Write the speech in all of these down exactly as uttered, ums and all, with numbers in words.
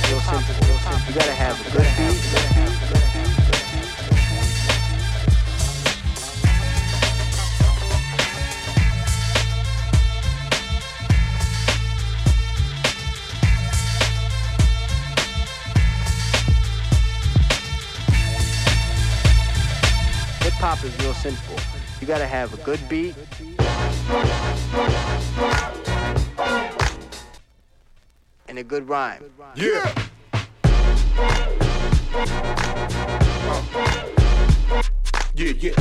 is real simple. You gotta have a good beat. Hip-hop is real simple. You gotta have a good beat and a good rhyme. Yeah. Uh. Yeah, yeah.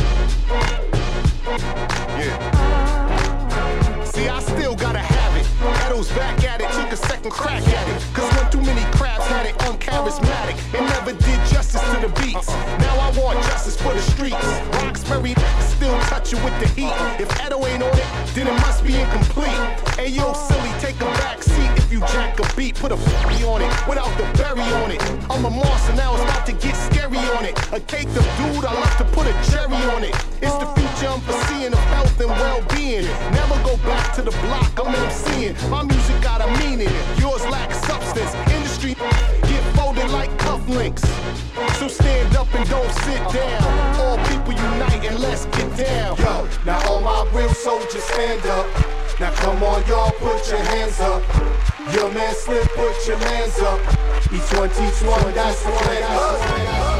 Yeah. See, I still gotta have it. Edo's back at it, took a second crack at it. Cause when too many crabs had it uncharismatic, it never did justice to the beats. Now I want justice for the streets. Roxbury still touch it with the heat. If Edo ain't on it, then it must be incomplete. Ayo, silly, take a back seat. If you jack a beat, put a f***y on it without the berry on it. I'm a monster, now it's about to get scary on it. A cake of dude, I love to put a cherry on it. It's the future I'm foreseeing of health and well-being. Never go back to the block, I'm MCing. My music got a meaning, yours lacks substance. Industry get folded like cufflinks. So stand up and don't sit down. All people unite and let's get down. Yo, now all my real soldiers stand up. Now come on y'all, put your hands up. Your man Slip, put your hands up. E twenty twenty, that's the plan up.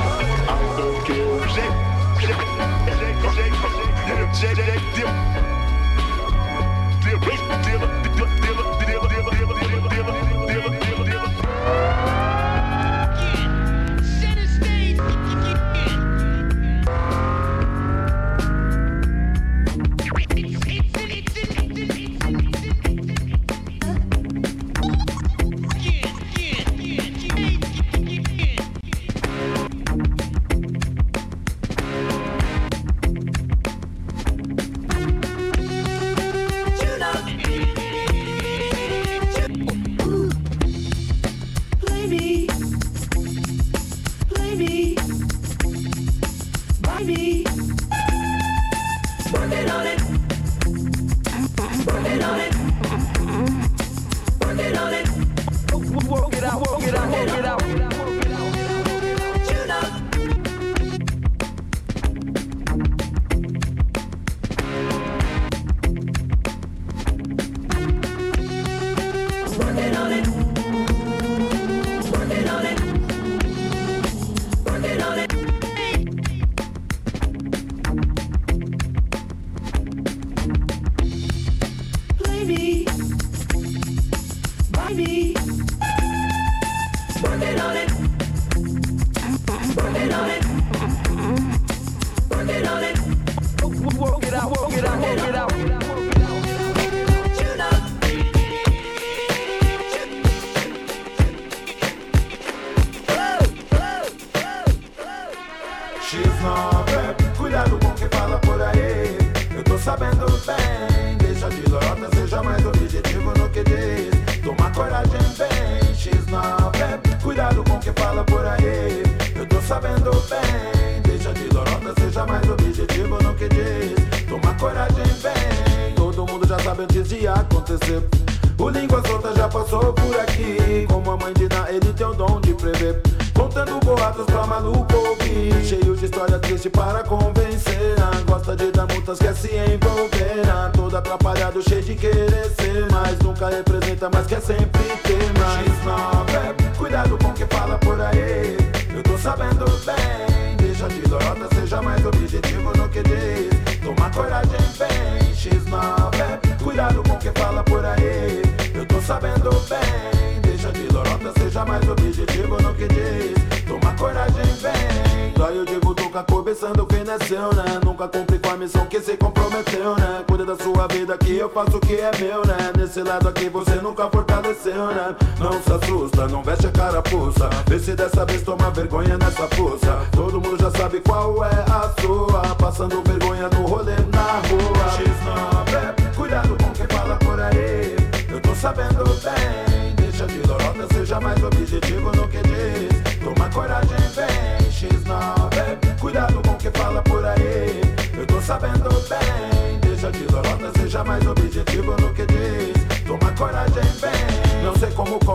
Faço o que é meu, né? Nesse lado aqui você nunca fortaleceu, né? Não se assusta, não veste a carapuça. Vê se dessa vez toma vergonha nessa força. Todo mundo já sabe qual é a sua. Passando vergonha no rolê na rua. X nove, cuidado com quem fala por aí. Eu tô sabendo bem. Deixa de lorota, seja mais objetivo no que diz. Toma coragem, vem. X nove, cuidado com quem fala por aí. Eu tô sabendo bem. Deixa de lorota, seja mais objetivo no que diz. Toma coragem, vem. Não sei como conseguir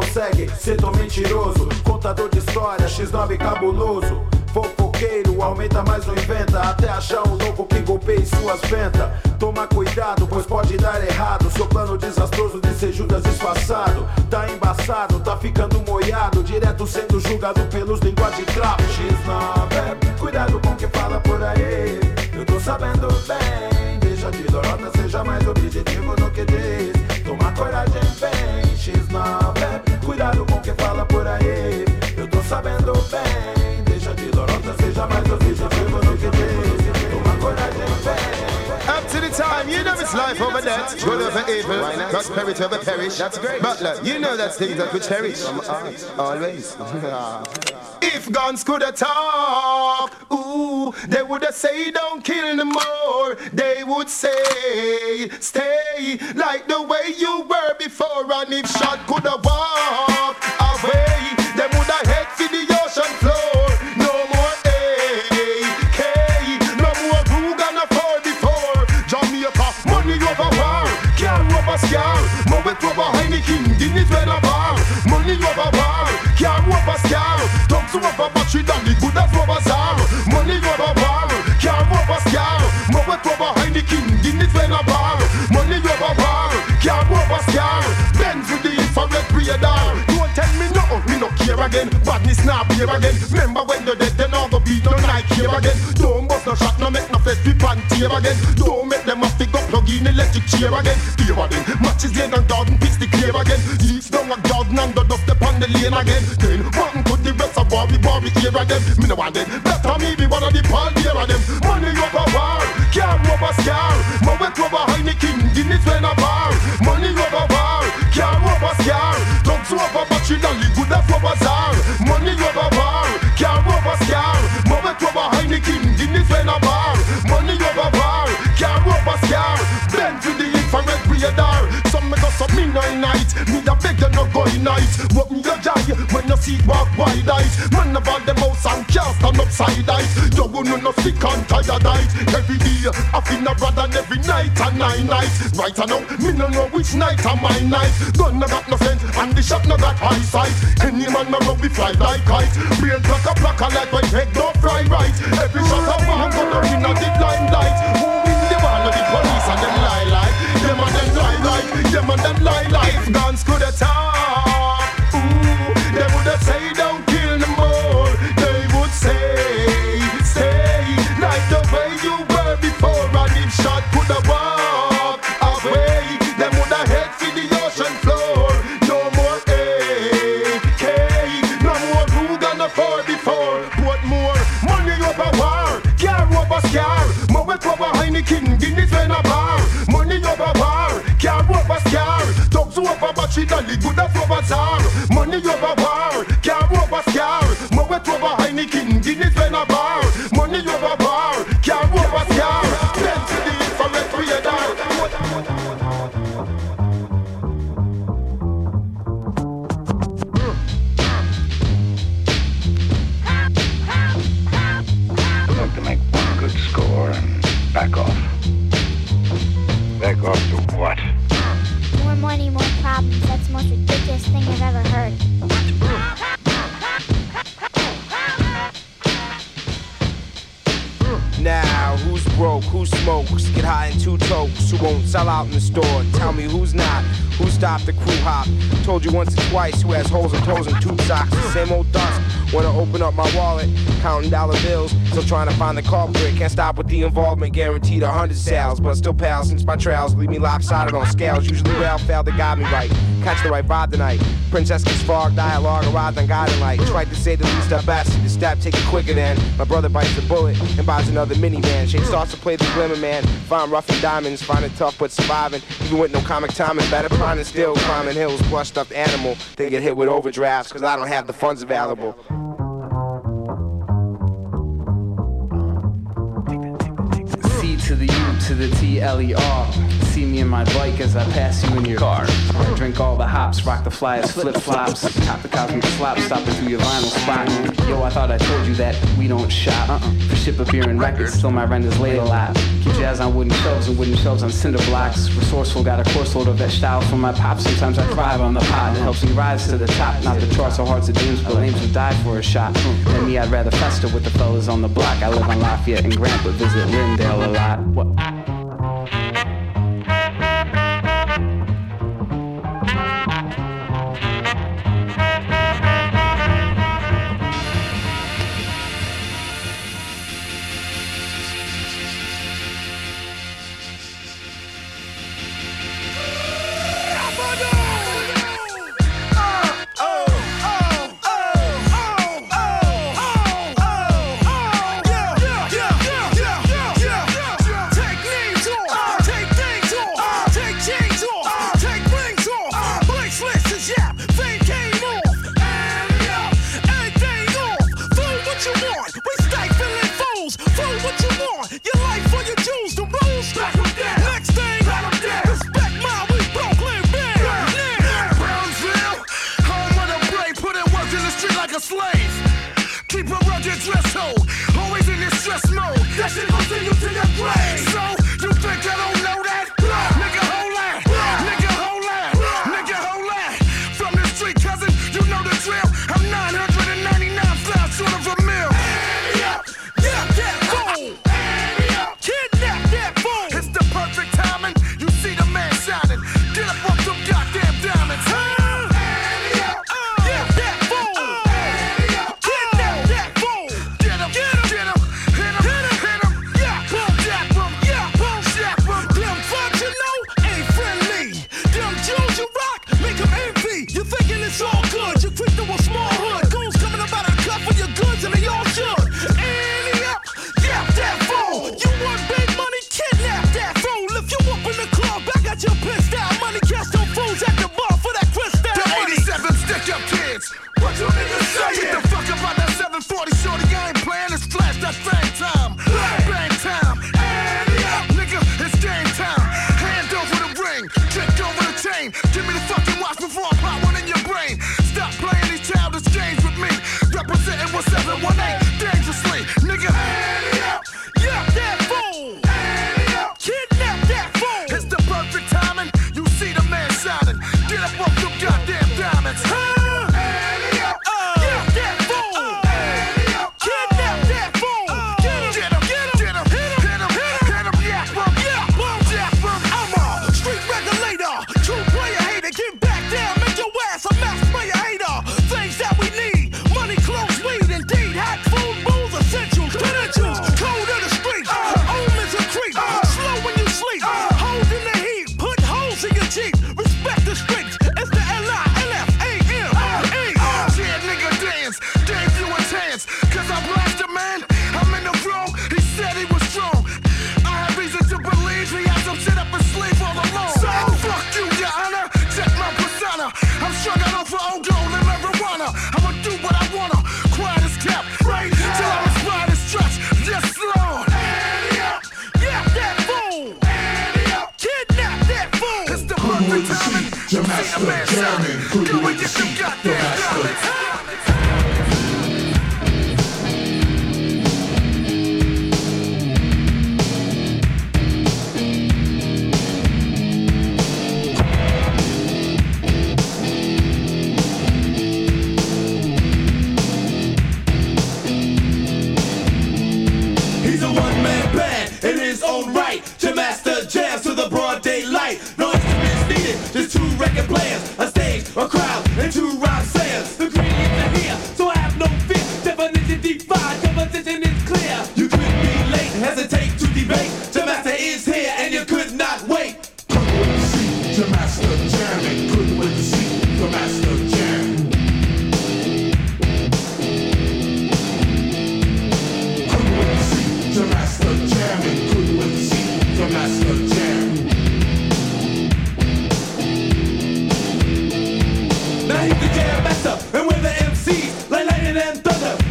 consegue ser tão mentiroso. Contador de história, X nove cabuloso. Fofoqueiro, aumenta mais ou inventa, até achar um louco que golpeie suas ventas. Toma cuidado, pois pode dar errado. Seu plano desastroso de ser Judas disfarçado. Tá embaçado, tá ficando moiado, direto sendo julgado pelos línguas de trapo. X nove, cuidado com quem fala por aí. Eu tô sabendo bem, deixa de lorota, seja mais objetivo no que diz. Toma coragem, vem, X nove, cuidado com quem fala por aí. Eu tô sabendo bem, deixa de lorota, seja mais objetivo no que diz. Toma coragem, vem. Up to the time, you know it's life over death, good over evil, prosperity over perish. That's great. Butler, you know that's things that we cherish. Always. If guns could have talk, ooh, they would have say don't kill no more. They would say stay like the way you were before. And if shot could have walked away, they would have head to the ocean floor. No more A K, no more Ruger no four before. Jamaica, money over war, car over scar, Moet over Heineken, Guinness when a bar. Money over war, car over scar, dogs over battery dolly, good as over czar. Money over war, car over scar, Moet over Heineken, Guinness when a bar. Money over war, car over scar, Benz with the infrared radar. Don't tell me no, me no care again. Badness now here again. Remember when you're dead, then all the beat no night here again. Don't bust no shot, no make no fed people and tear again. Don't make them a pick up plug in electric chair again. Fear again, matches laid and garden piece the clear again. Leaves down a garden and the dust upon the lane again. Then what could the rest of war be war we hear again? Me no want them, better me be one of the pal here of them. Money over war, car over scar, Moet over Heineken, Guinness when a bar. Money over war, car over scar, dogs over battery dolly, good as over czar. Money over war, car over scar, Moet over Heineken, Guinness when a bar. Money over war, car over scar, Benz with the infrared radar. Some make us up midnight night, me da beg you no go in night. Walk me your eye when you see walk wide eyes. Man of all them house and can't stand upside eyes. You wouldn't no sick and tired eyes. Every day I feel no rather than every night and nine nights. Right now, me no know which night are my night. Gun no got no sense and the shot no got eyesight. Any man no run we fly like kite. Brain pluck a pluck a like when head don't fry right. Every shot of one gonna win a the limelight. Who win the war of the police and them lie like. Them and them lie like. Them and them lie like. If guns could have talk, ooh, they would have say don't kill no more. They would say stay like the way you were before. And if shot could have walked away, them would have head to the ocean floor. No more A K, no more Ruger no four before. But more money over war, car over scar, Moet over Heineken, Guinness when a bar. Money over war, car over scar, dogs over battery dolly, good as over czar. Money over war, car over scar, Moet over Heineken, Guinness when a bar. Money over war, car over scar, Benz with the infrared radar. Look to make one good score and back off. Back off to what? More money, more problems. That's the most ridiculous thing I've ever heard. Now, who's broke, who smokes, get high in two tokes, who won't sell out in the store? Tell me who's not, who stopped the crew hop? Told you once or twice who has holes in toes and tube socks. The same old dust, wanna open up my wallet, counting dollar bills, still trying to find the culprit. Can't stop with the involvement, guaranteed a hundred sales, but still pal since my trails leave me lopsided on scales. Usually Ralph failed to guide me right, catch the right vibe tonight. Princess gets fog, dialogue, arrived on guiding light. Tried to say the least I best, the step take it quicker than my brother bites the bullet and buys another minivan. Shade starts to play the glimmer man, find rough and diamonds, find it tough but surviving. Even with no comic timing, better finding still climbing hills, plush stuffed animal. They get hit with overdrafts cause I don't have the funds available. C to the U to the T L E R. See me in my bike as I pass you in your car. I drink all the hops, rock the flyers, flip flops, cop the cosmic slop, stopping through your vinyl spot. Yo, I thought I told you that we don't shop uh-uh. for ship up here in records, still my rent is late a lot. Keep jazz on wooden shelves and wooden shelves on cinder blocks. Resourceful, got a course load of that style from my pop. Sometimes I thrive on the pot, it helps me rise to the top. Not the charts or hearts of names, but names will die for a shot. And me, I'd rather fester with the fellas on the block. I live on Lafayette and Grant, but visit Lindale a lot. What?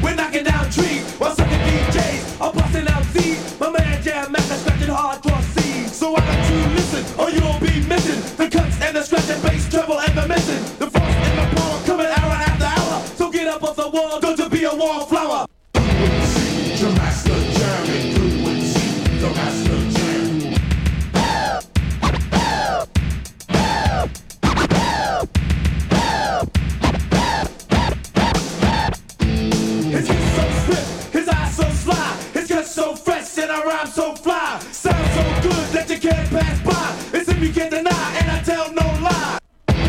Hardcore C So why don't you listen, or you'll be missing the cuts and the scratch and bass, treble and the missing. The frost and the power coming hour after hour. So get up off the wall, go to be a wallflower. The master jamming, good with C, the master jam. His kiss so swift, his eyes so sly, his cut so fresh and our rhyme so fly. Sound so good that you can't pass by. It's if you can't deny, and I tell no lie.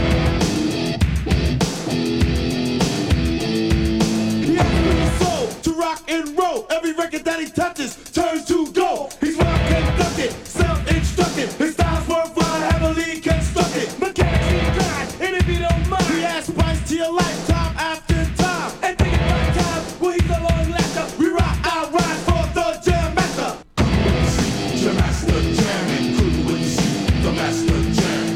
He has a soul to rock and roll. Every record that he touches turns to gold. He's well conducted, self-instructed. His style's worthwhile, heavily constructed. Mechanically grind, and if you don't mind, he adds spice to your life time after time. And think about time, well he's a long laughter. We rock our rhymes for the jam master. The master jamming, good with C, the master jam.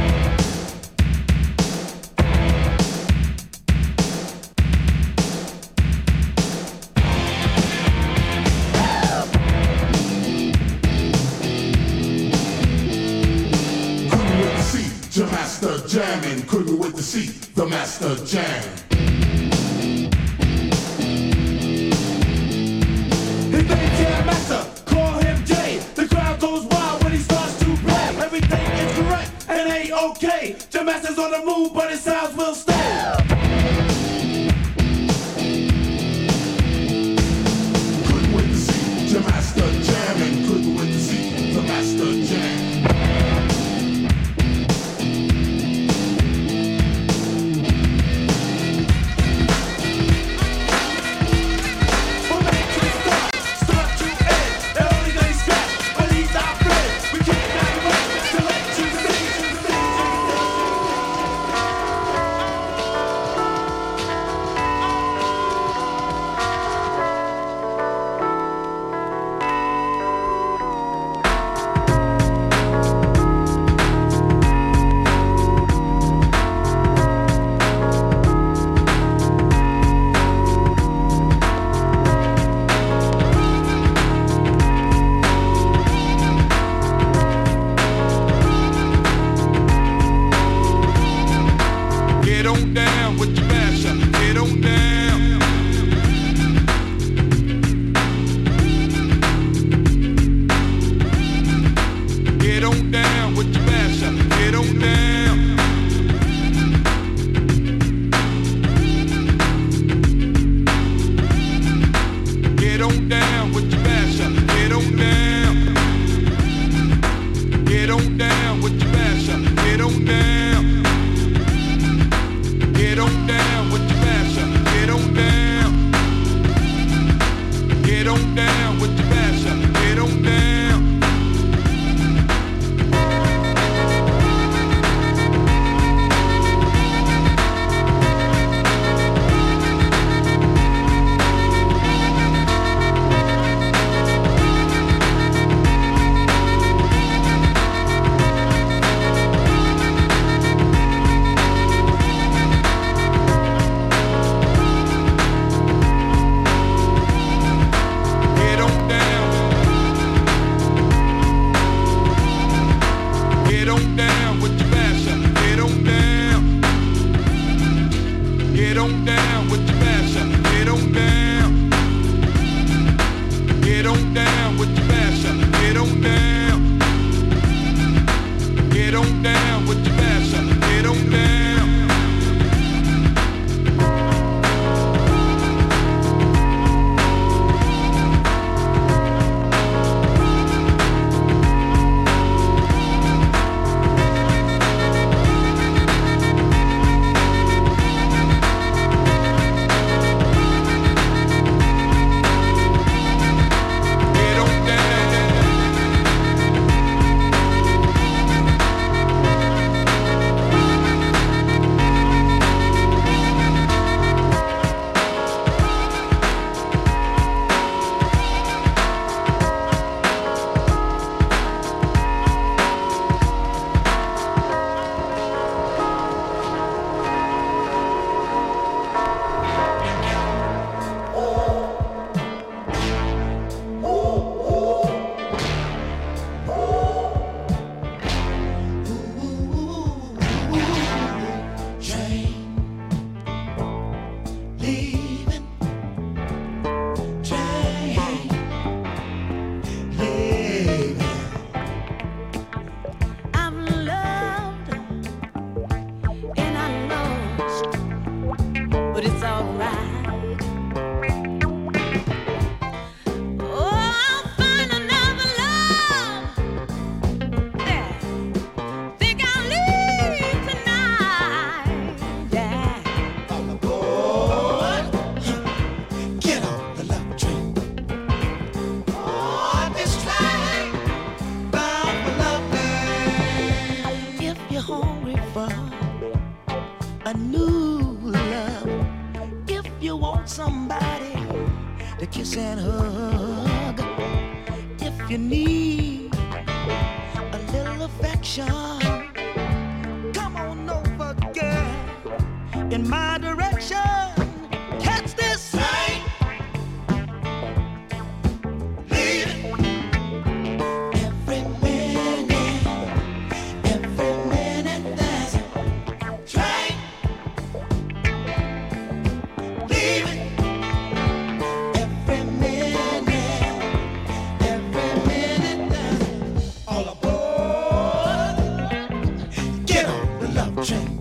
The master jamming, couldn't wait to see the master jam. His name's Jam Master, call him Jay. The crowd goes wild when he starts to play. Everything is correct and ain't okay. Jam Master's on the move, but his sounds will stay. Couldn't wait to see the master jamming, couldn't wait to see the master jam. the kiss and hug. If you need a little affection, come on over, girl, in my direction. Catch this train, leaving every minute, every minute there's a train, leaving every minute, every minute there's all aboard. Get on the love train.